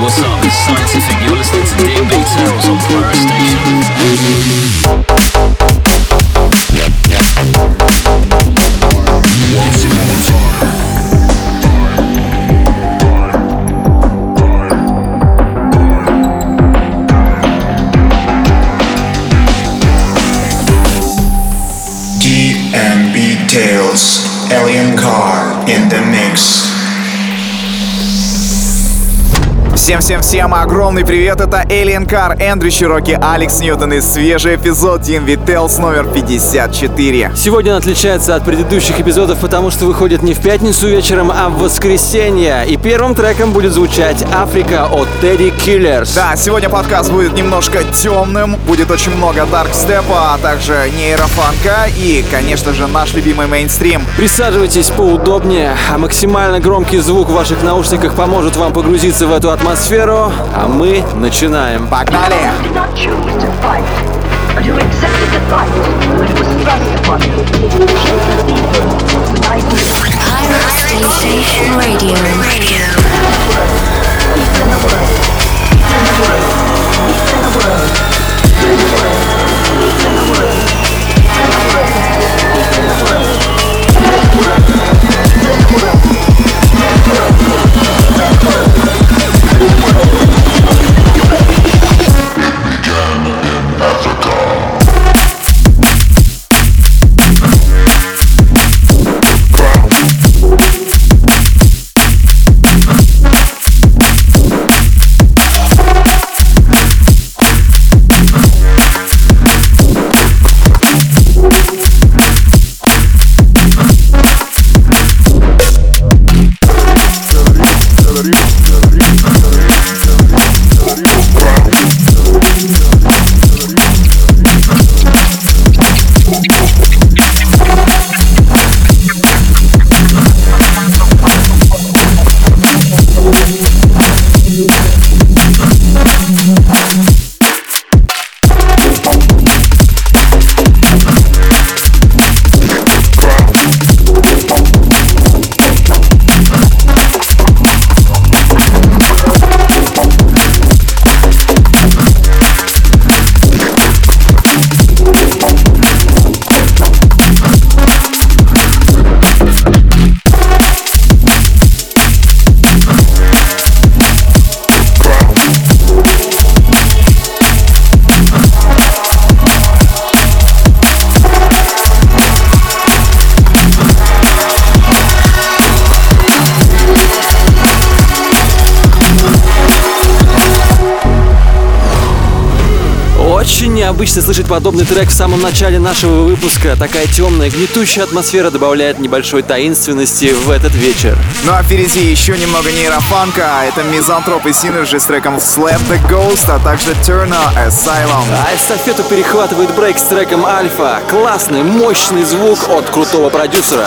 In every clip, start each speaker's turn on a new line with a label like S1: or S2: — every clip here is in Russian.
S1: what's up? It's Scientific. You're listening to DMB Tales on Pirate Station.
S2: DMB Tales, Alien Car in the mix.
S3: Всем огромный привет, это Alien Car, Эндрю Чироки, Алекс Ньютон и свежий эпизод DMB Tales номер 54.
S4: Сегодня он отличается от предыдущих эпизодов, потому что выходит не в пятницу вечером, а в воскресенье. И первым треком будет звучать «Африка» от Teddy Killers.
S3: Да, сегодня подкаст будет немножко темным, будет очень много даркстепа, а также нейрофанка и, конечно же, наш любимый мейнстрим.
S4: Присаживайтесь поудобнее, а максимально громкий звук в ваших наушниках поможет вам погрузиться в эту атмосферу, а мы начинаем.
S3: Погнали!
S4: Очень необычно слышать подобный трек в самом начале нашего выпуска. Такая темная, гнетущая атмосфера добавляет небольшой таинственности в этот вечер.
S3: Ну а впереди еще немного нейрофанка. Это Мизантроп и Synergy с треком Slap the Ghost, а также Turner Asylum.
S4: А эстафету перехватывает Брейк с треком Альфа. Классный, мощный звук от крутого продюсера.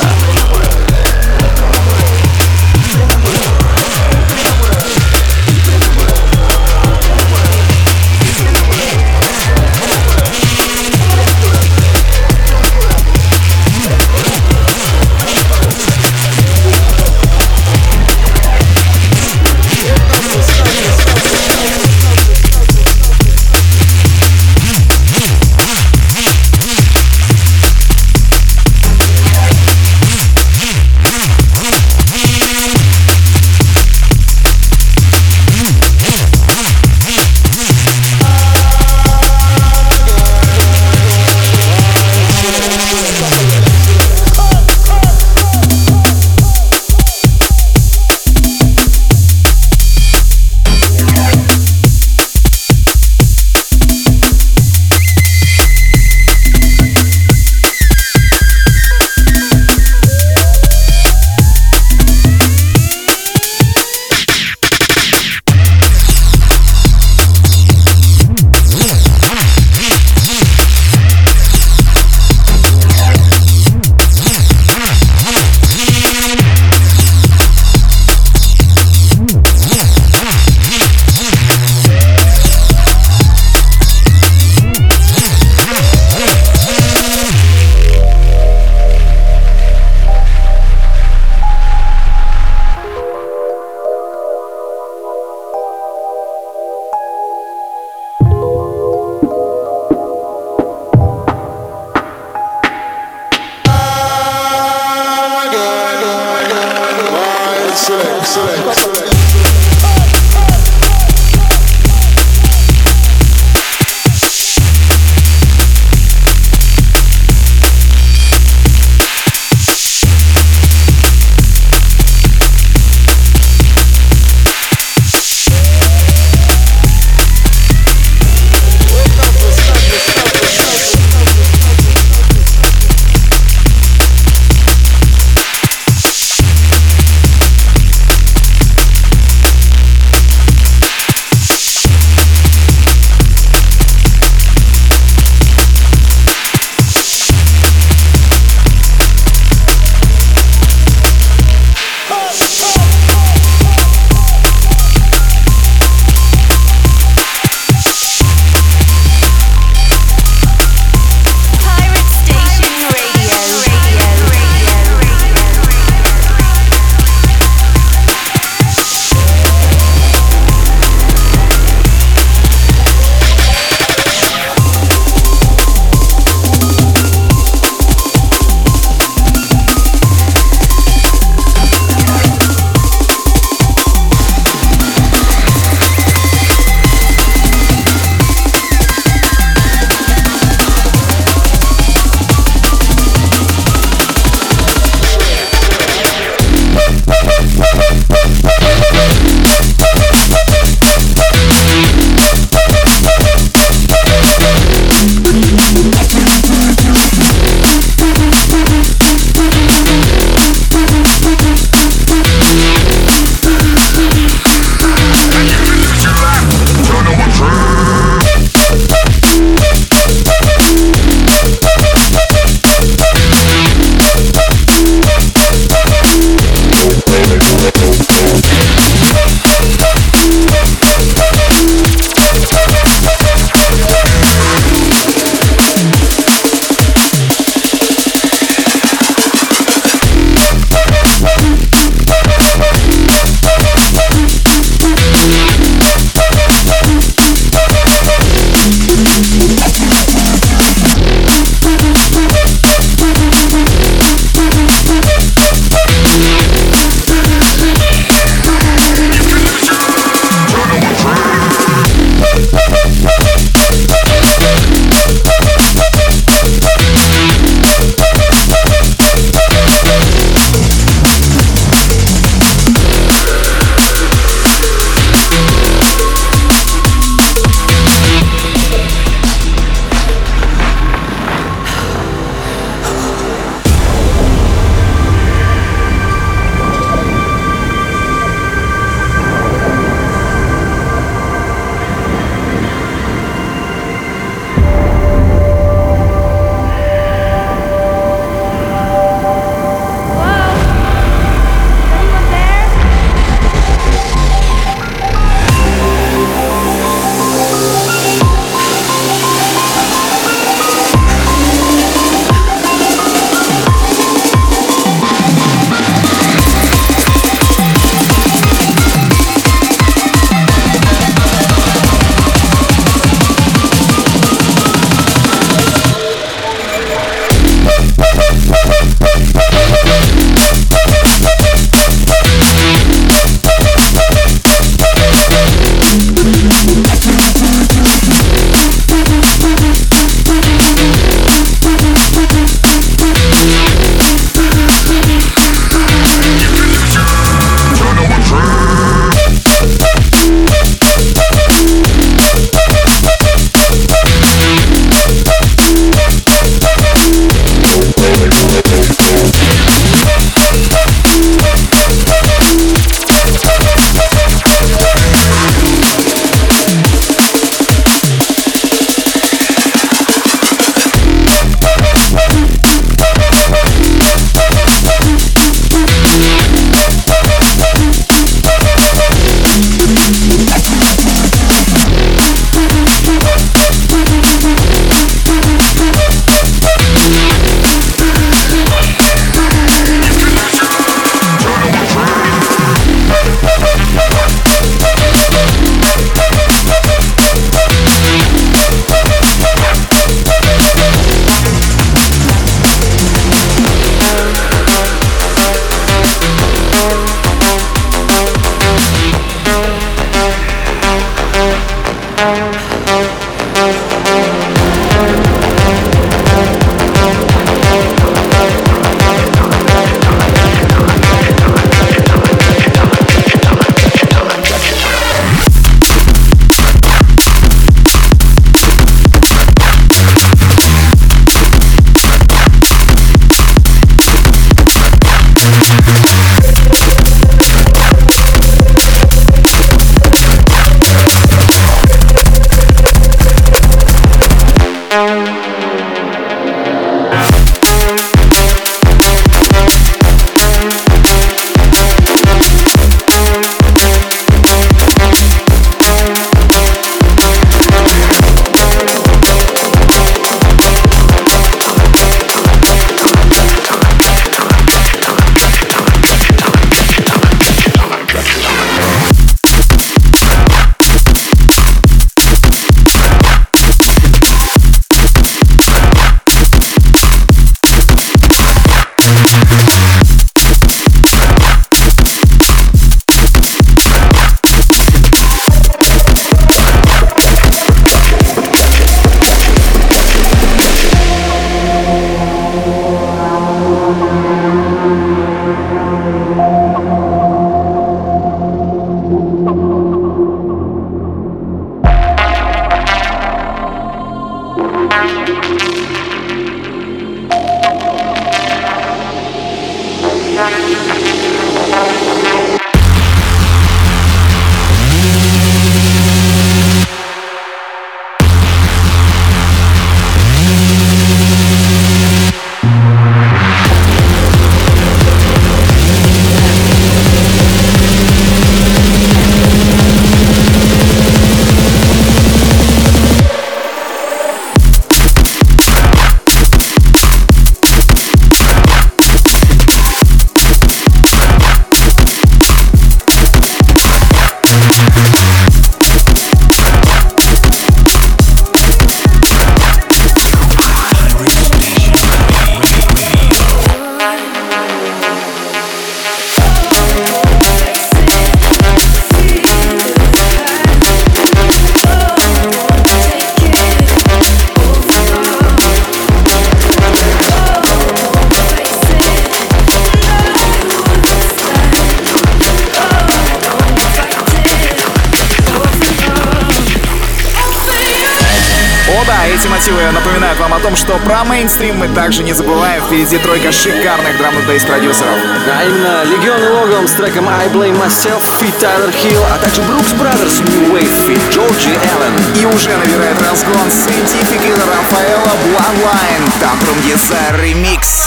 S3: Эти мотивы напоминают вам о том, что про мейнстрим мы также не забываем. Впереди тройка шикарных драм-н-бейс продюсеров.
S4: А именно Legion и Logom с треком I Blame Myself, feat. Tyler Hill, а также Brooks Brothers New Wave, feat. Georgie Allen.
S3: И уже набирает разгон Scientific и Рафаэла Bloodline. Tantrum Desire ремикс.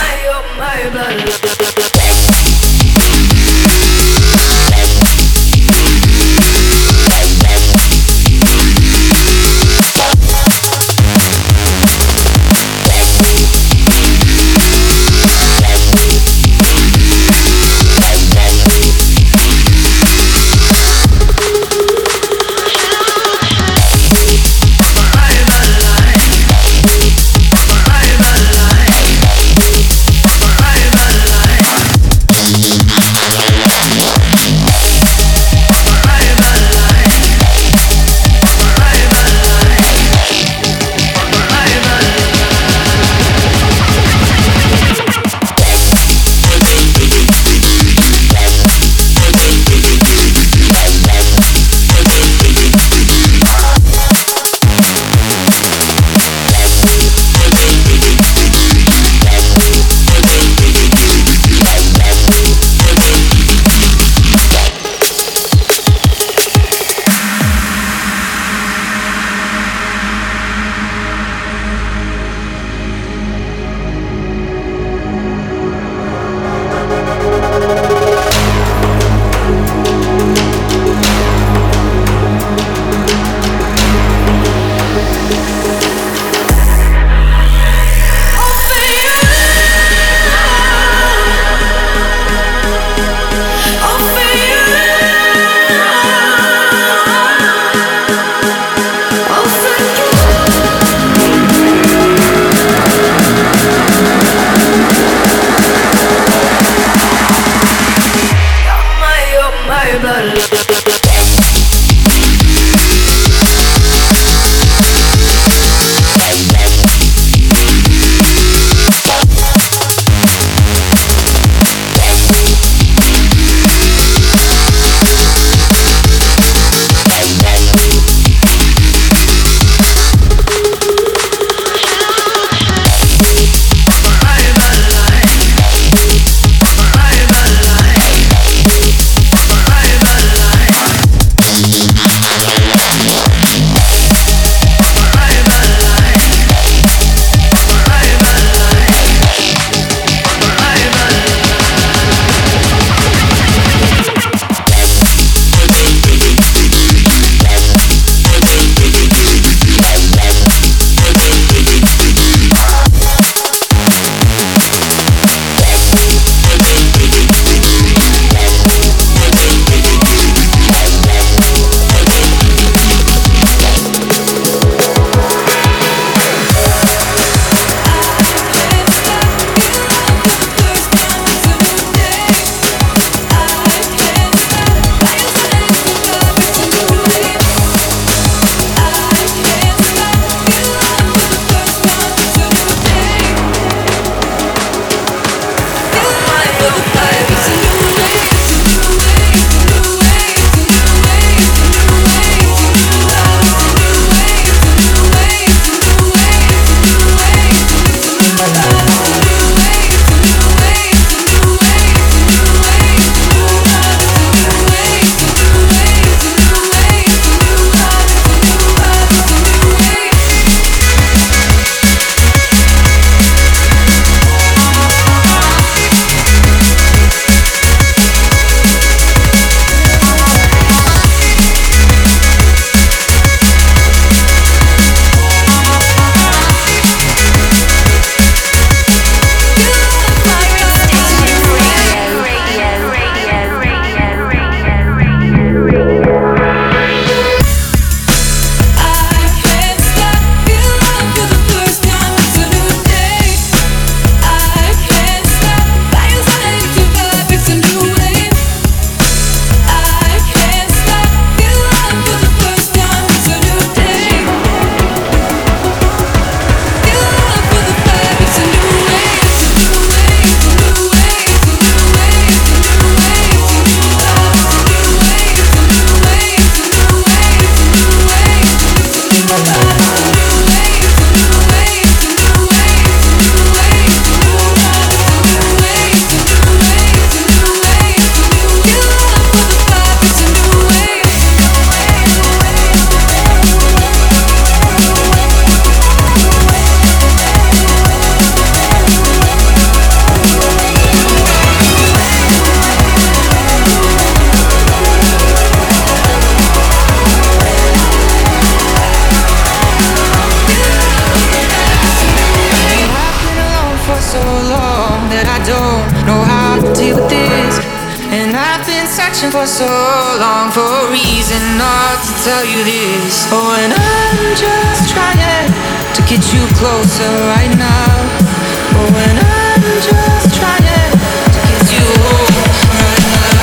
S5: don't know how to deal with this. And I've been searching for so long for a reason not to tell you this. Oh, and I'm just trying to get you closer right now. Oh, and I'm just trying to get you home right now.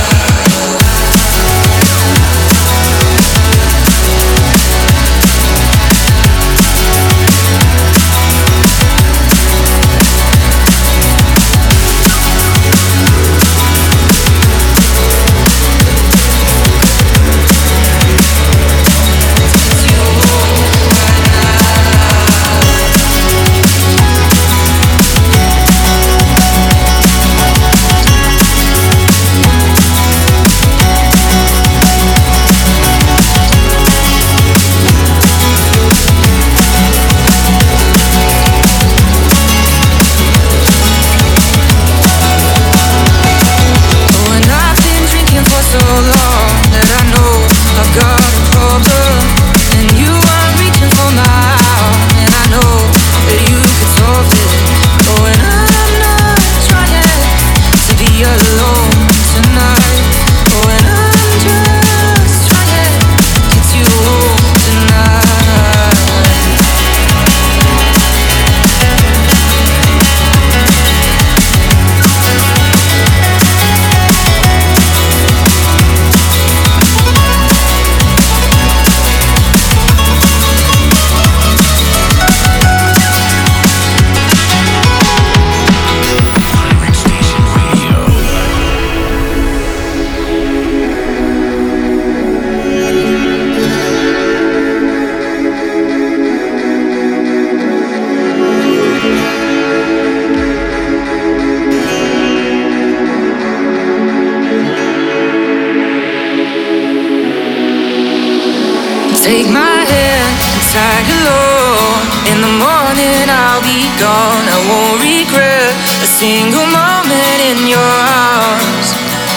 S5: Take my hand and tag along. In the morning I'll be gone. I won't regret a single moment in your arms.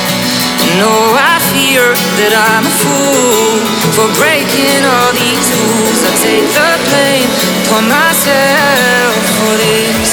S5: No, I fear that I'm a fool for breaking all these rules. I take the blame upon myself for this.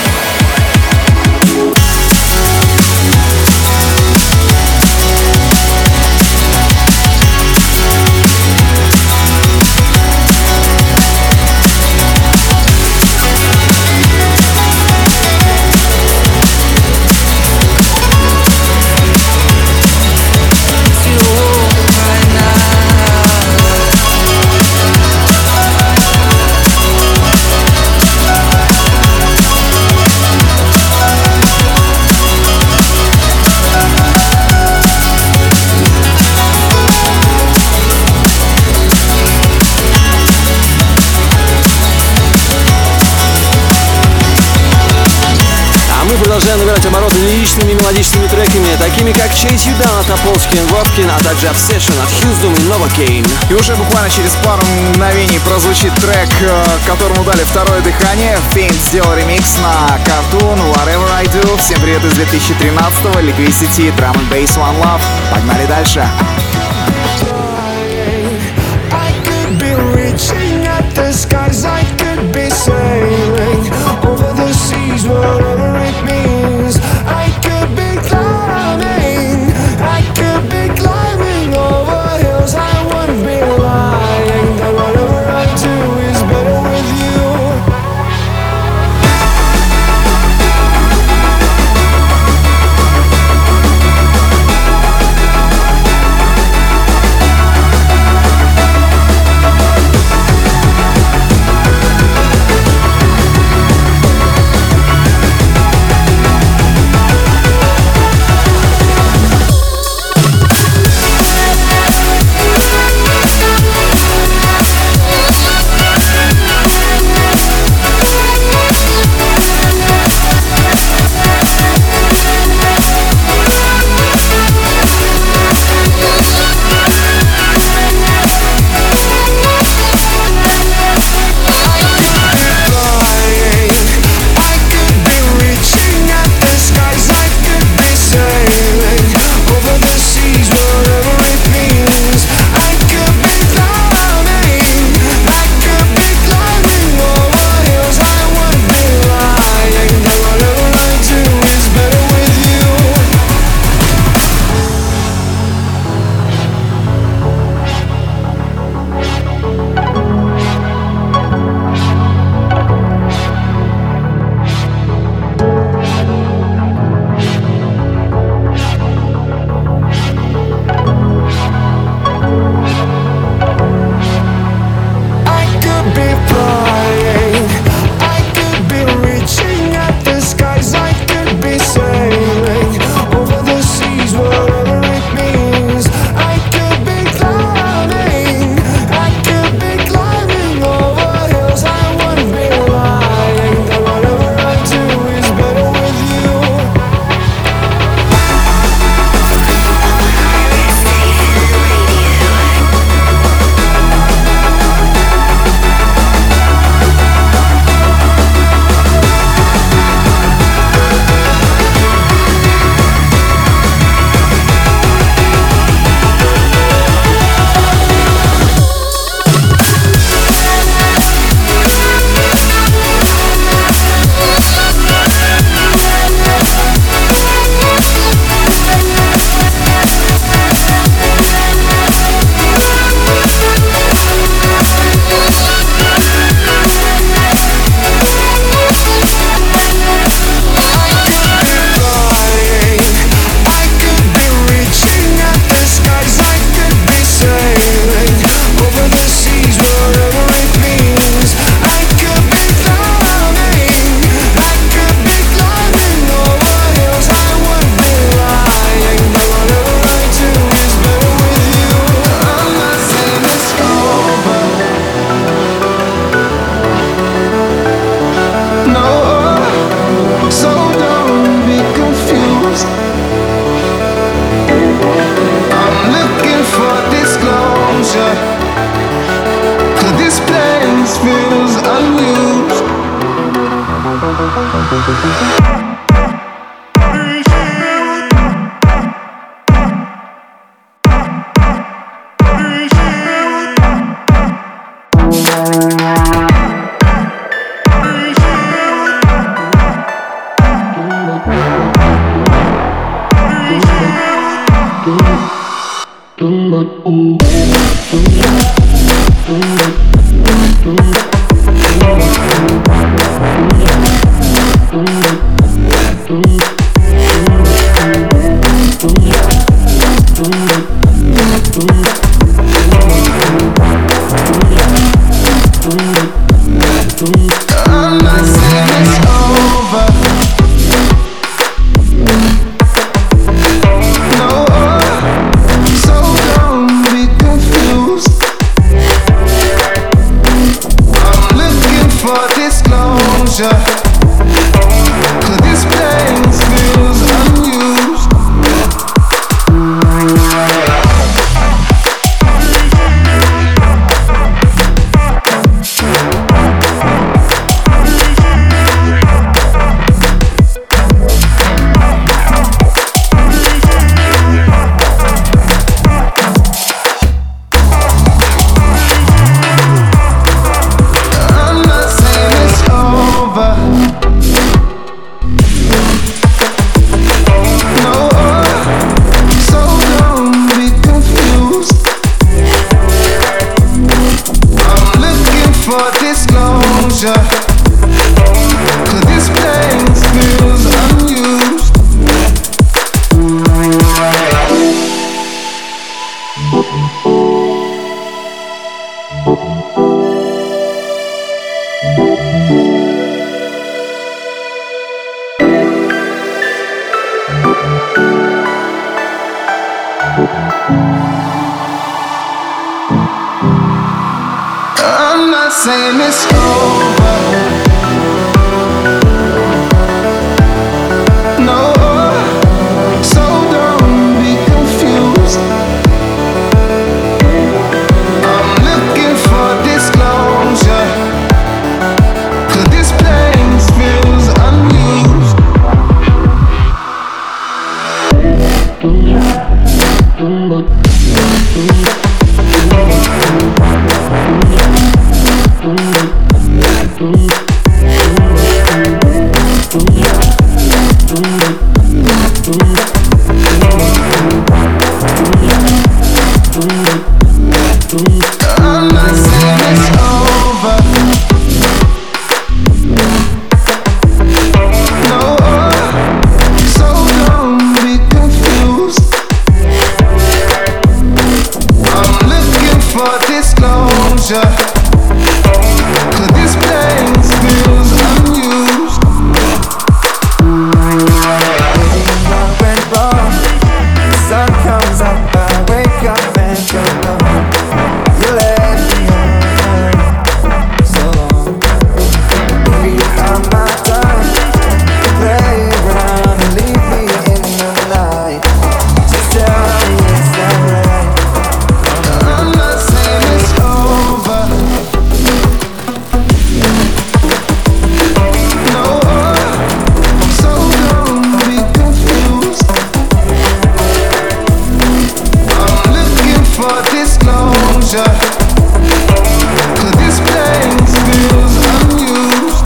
S4: Продолжаем набирать обороты лиричными мелодичными треками, такими как Chase You Down от Топольски и Вовкин, а также Obsession от Хьюздум и Новокейн.
S3: И уже буквально через пару мгновений прозвучит трек, которому дали второе дыхание. Faint сделал ремикс на Cartoon Whatever I Do. Всем привет из 2013-го, Liquidity, Drum and Bass, One Love. Погнали дальше.
S6: Whatever it means, I could be climbing, I could be climbing over hills. I wouldn't be lying that whatever I do is better with you. I'm not saying it's over. No, so don't be confused. I'm looking for disclosure, 'cause this place feels unused. I'm not saying it's over. No, so don't be confused. I'm looking for disclosure, 'cause this place feels unused.
S7: Went wrong. The sun comes up, I wake up and you're gone. You left me on so long. Maybe you found my time to play around and leave me in the night. Just tell me, is that right?
S6: I'm not saying it's over. No, so don't be confused. I'm looking for disclosure, 'cause this place feels unused.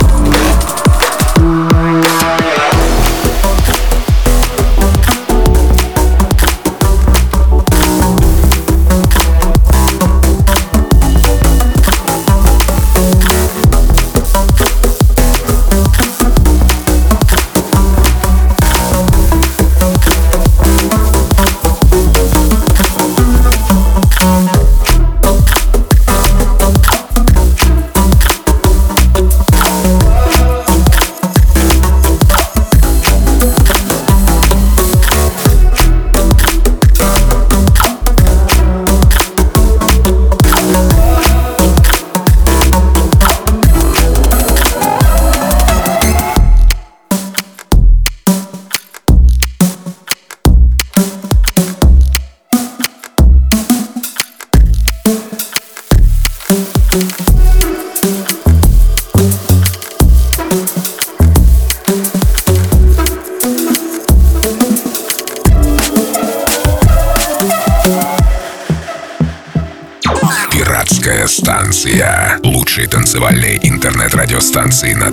S8: Пиратская станция. Лучшие танцевальные интернет-радиостанции на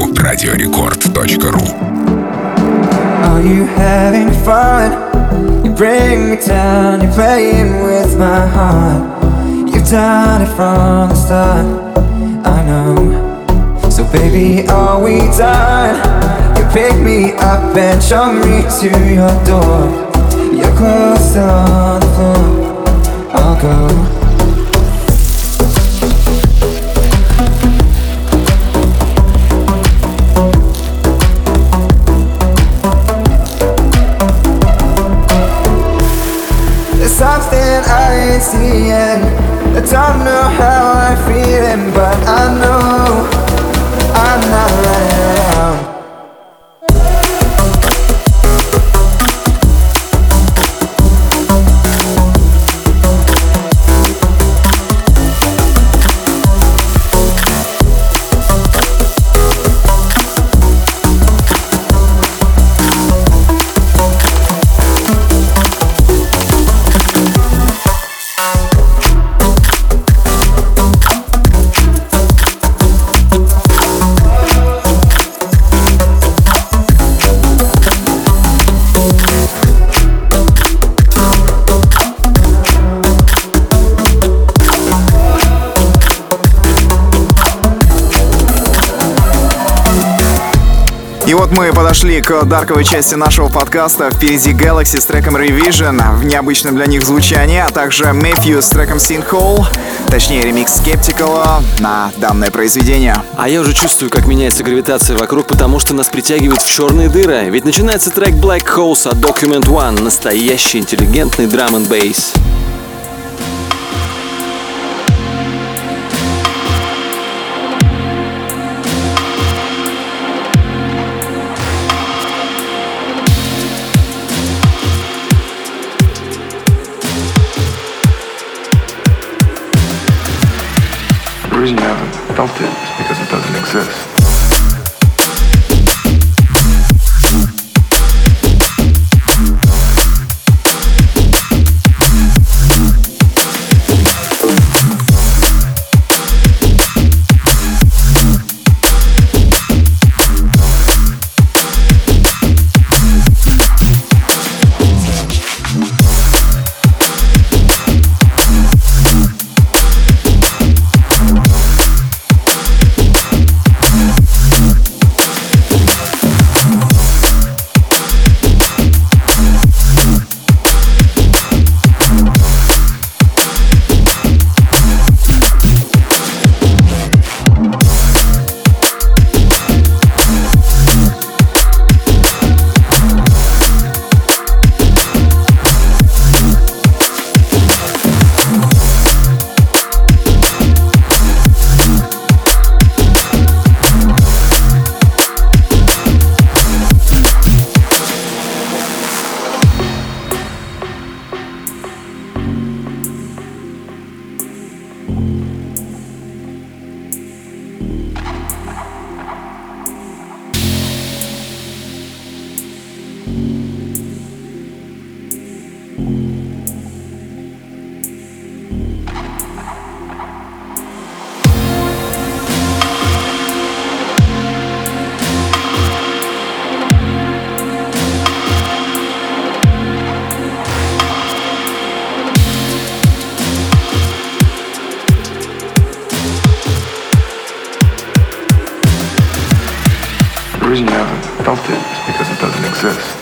S8: www.radiorecord.ru.
S7: Are you having fun? bring me down, you're playing with my heart. You've done it from the start, I know. So baby, are we done? You pick me up and show me to your door. Your clothes still on the floor, I'll go. Something I ain't seeing. I don't know how I'm feeling, but I know I'm not running around.
S3: И вот мы подошли к дарковой части нашего подкаста. Впереди Galaxy с треком Revision в необычном для них звучании, а также Matthew с треком Sinkhole, точнее ремикс Skeptical на данное произведение.
S4: А я уже чувствую, как меняется гравитация вокруг, потому что нас притягивает в черные дыры. Ведь начинается трек Black Holes от Document One, настоящий интеллигентный драм-н-бейс.
S9: The reason you haven't felt it is because it doesn't exist. The reason you haven't felt it is because it doesn't exist.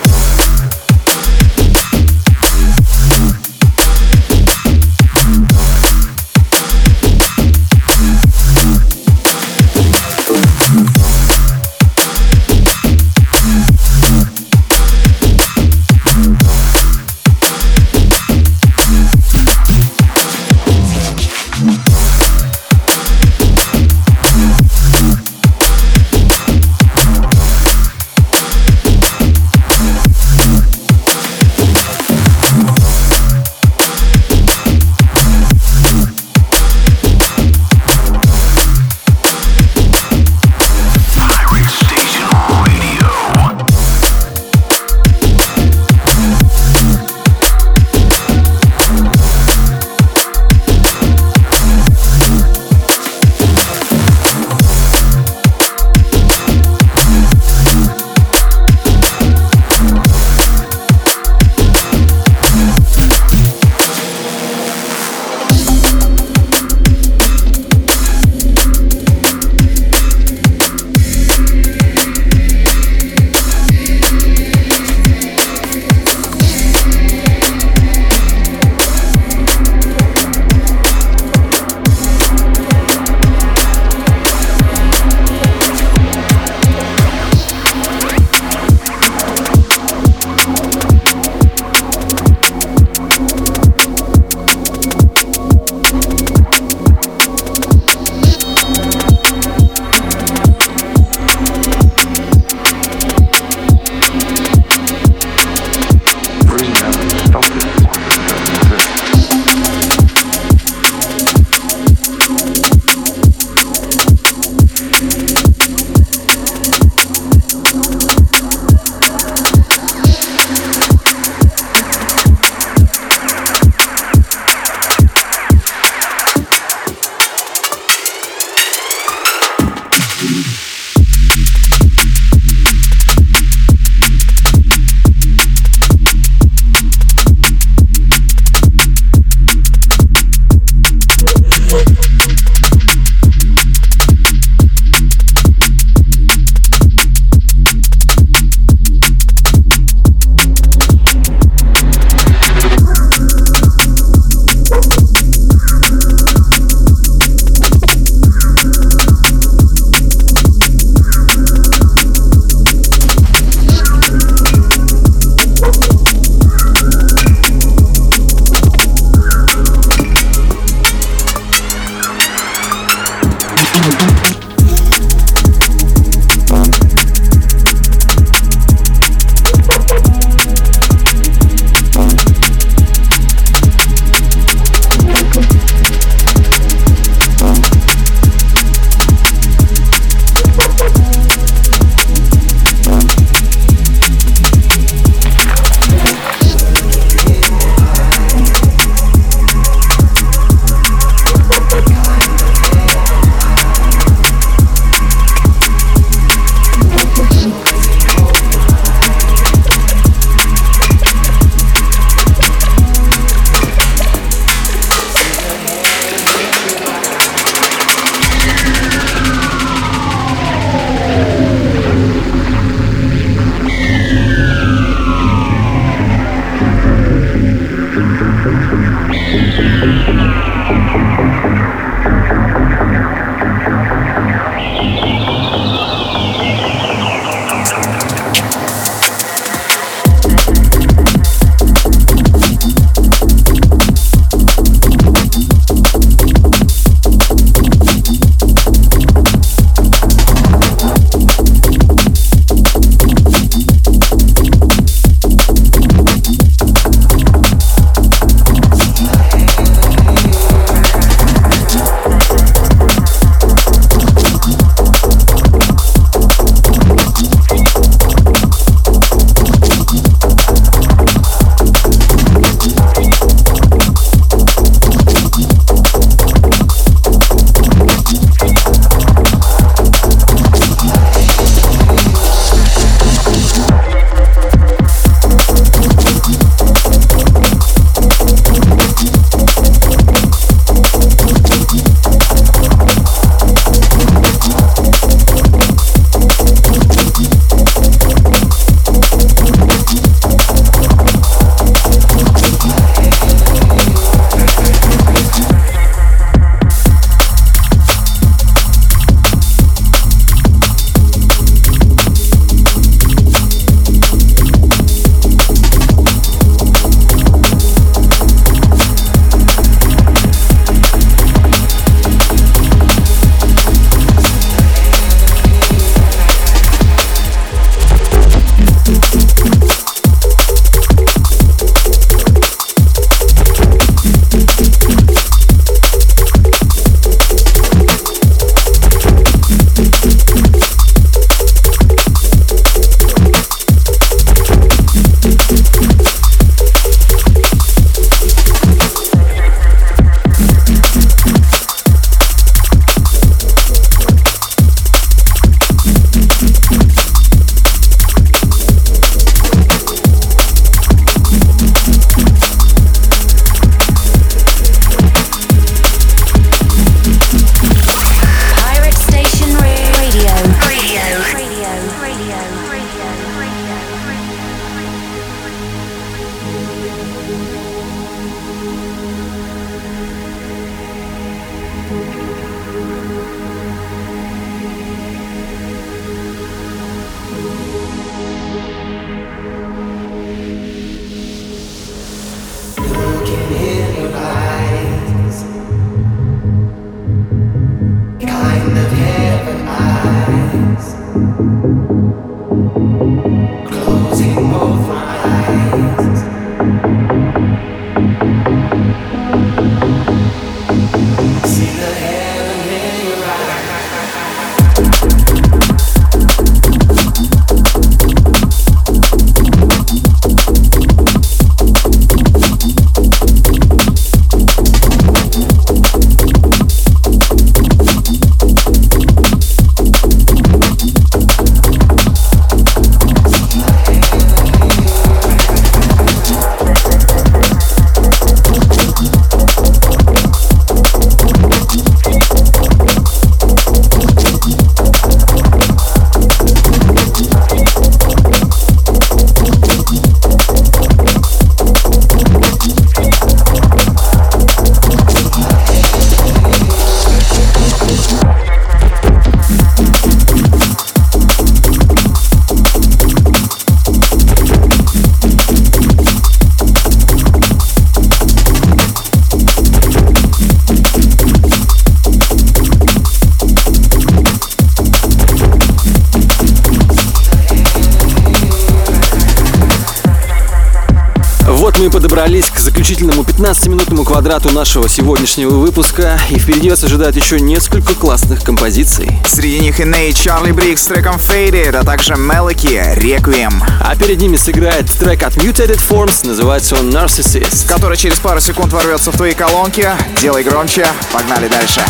S4: мы подобрались к заключительному 15-минутному квадрату нашего сегодняшнего выпуска, и впереди вас ожидает еще несколько классных композиций.
S3: Среди них и Нейт, Чарли Брикс с треком Faded, а также Мелоки, Requiem.
S4: А перед ними сыграет трек от Mutated Forms, называется он Narcissist,
S3: который через пару секунд ворвется в твои колонки. Делай громче, погнали дальше.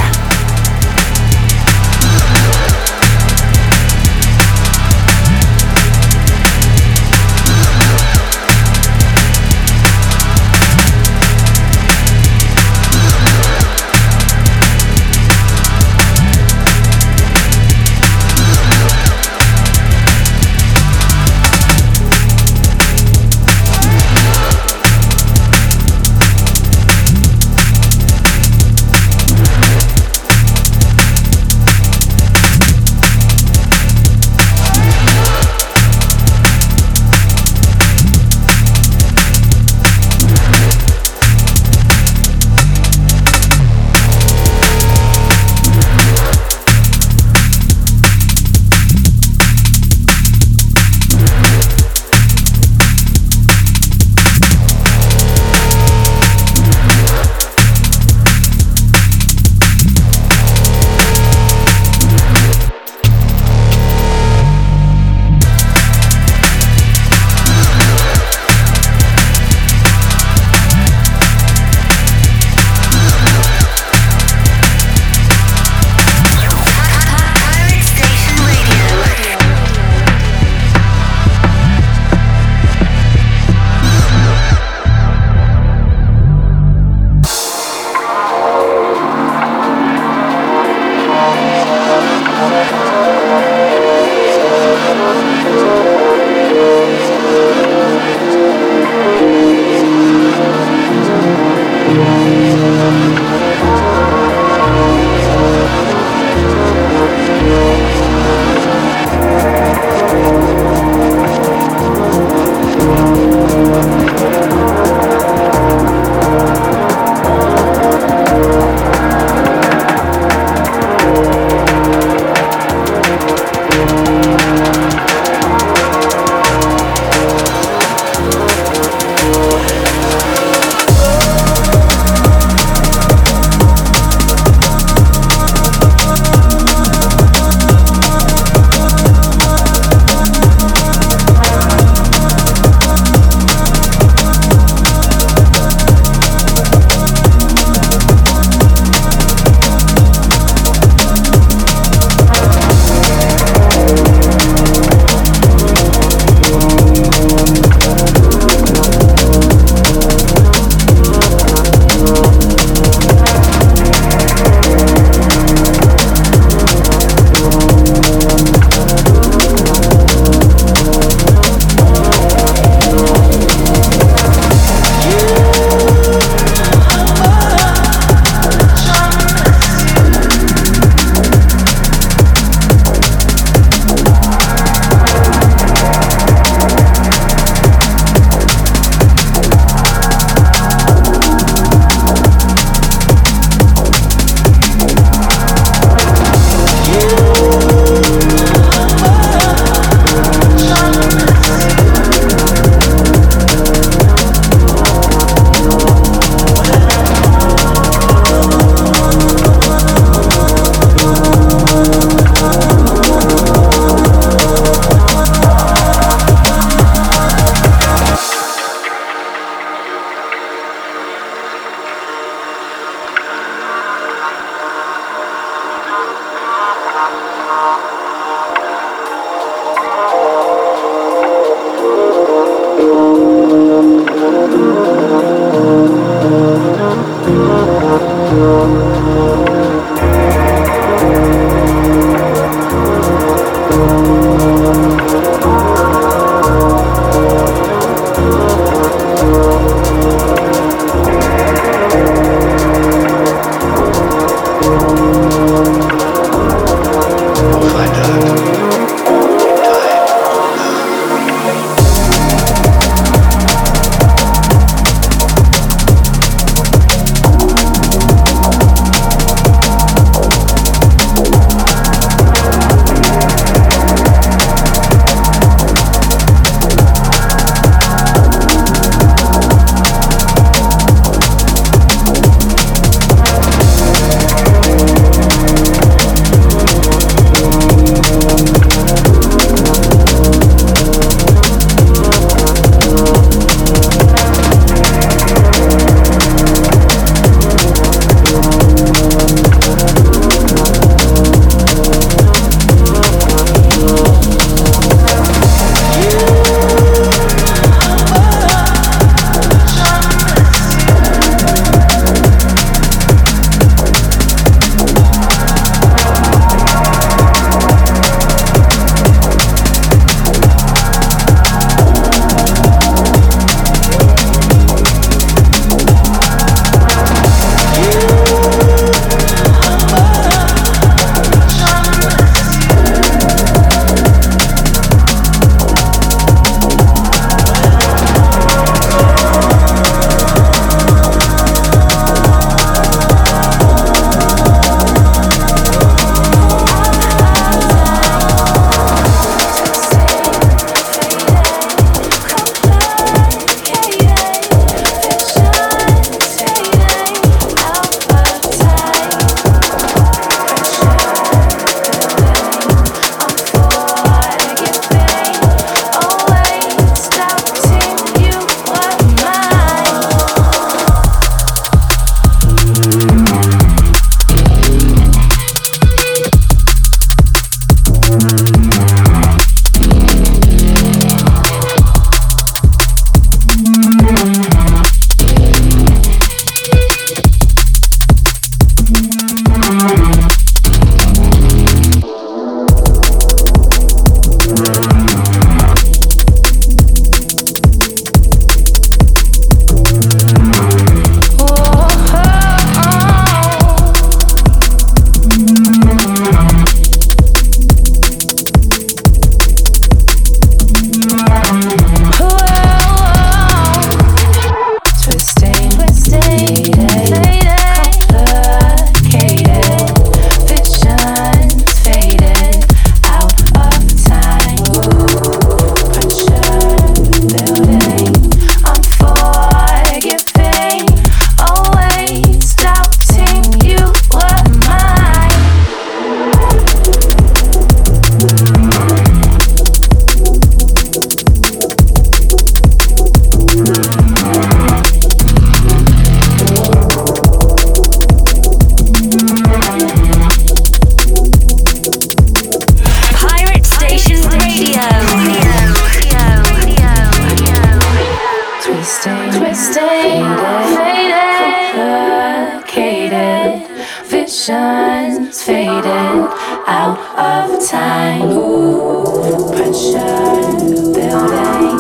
S5: complicated, visions faded out of time. Pressure building,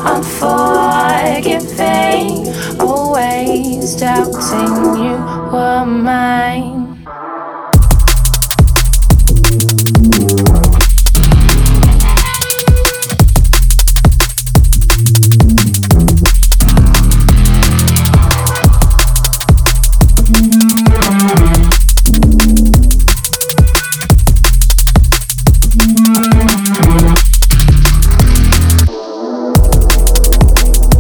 S5: unforgiving, always doubting you were mine.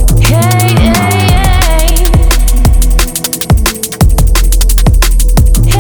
S10: Hey,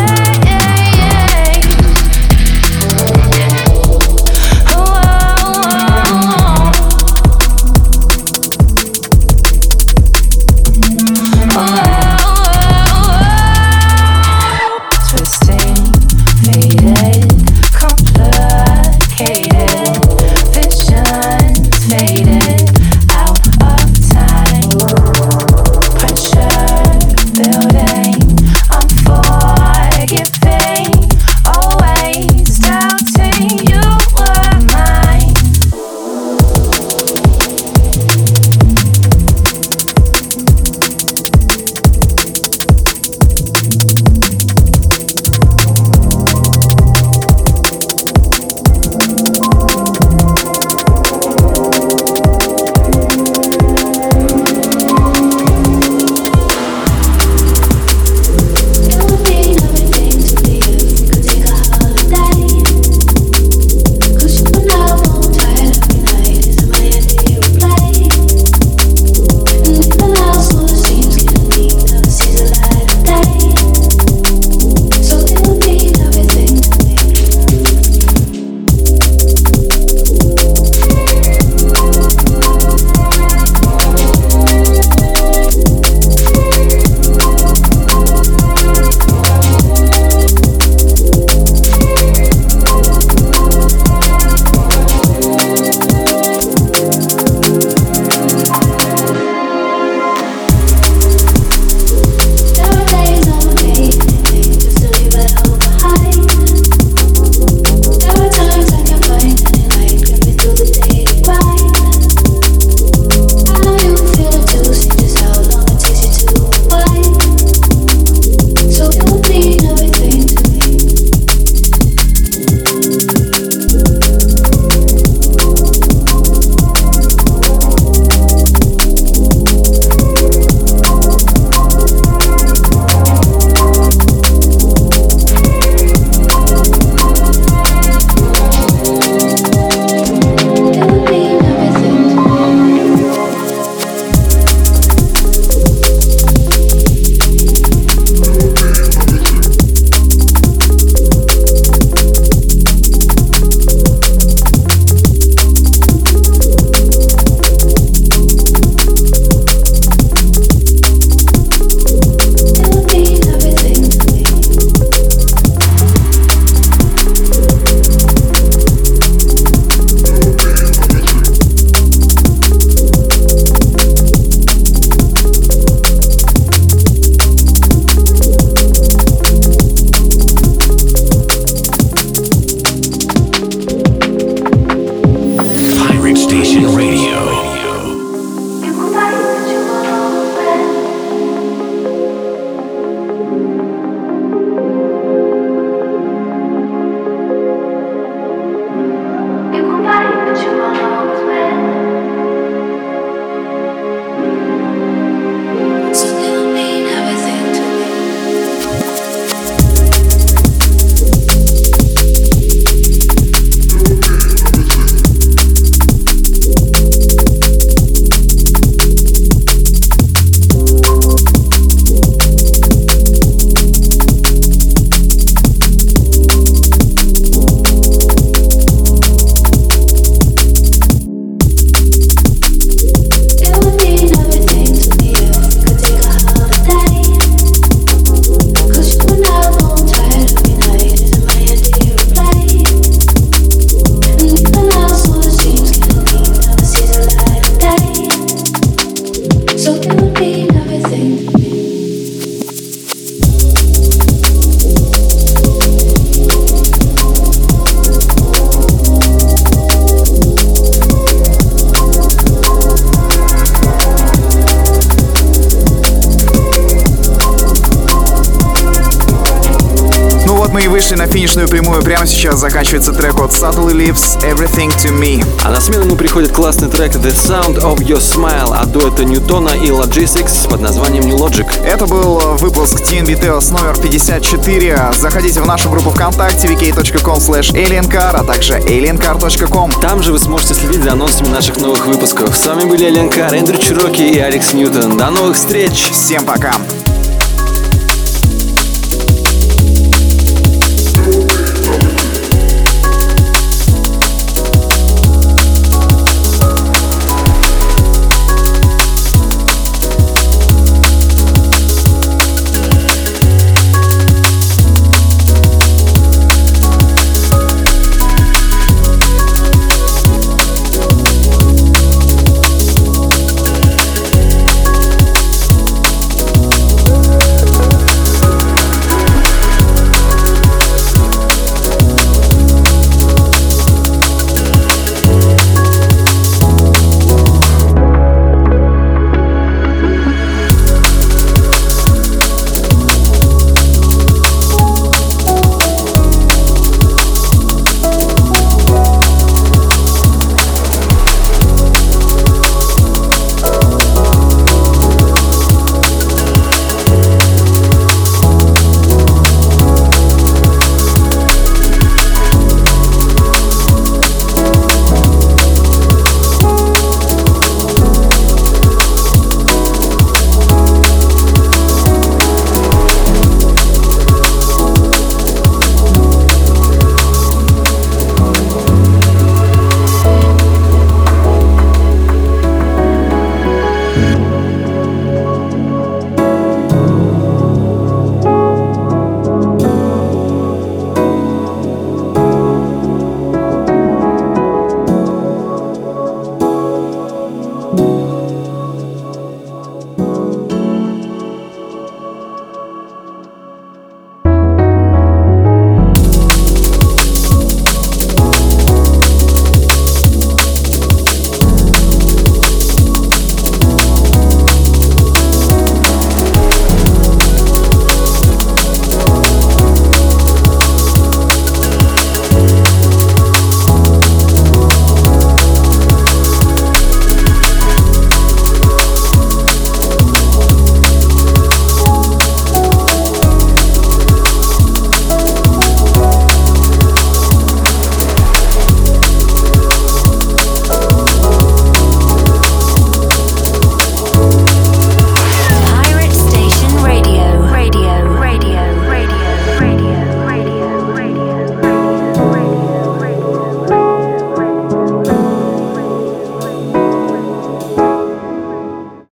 S3: вышли на финишную прямую. Прямо сейчас заканчивается трек от Subtle Lips «Everything to Me».
S4: А на смену ему приходит классный трек «The Sound of Your Smile» от дуэта Ньютона и Logistics под названием New Logic.
S3: Это был выпуск TNB Tales номер 54. Заходите в нашу группу ВКонтакте vk.com/aliencar, а также aliencar.com.
S4: Там же вы сможете следить за анонсами наших новых выпусков. С вами были Alien Car, Эндрю Чироки и Алекс Ньютон. До новых встреч!
S3: Всем пока!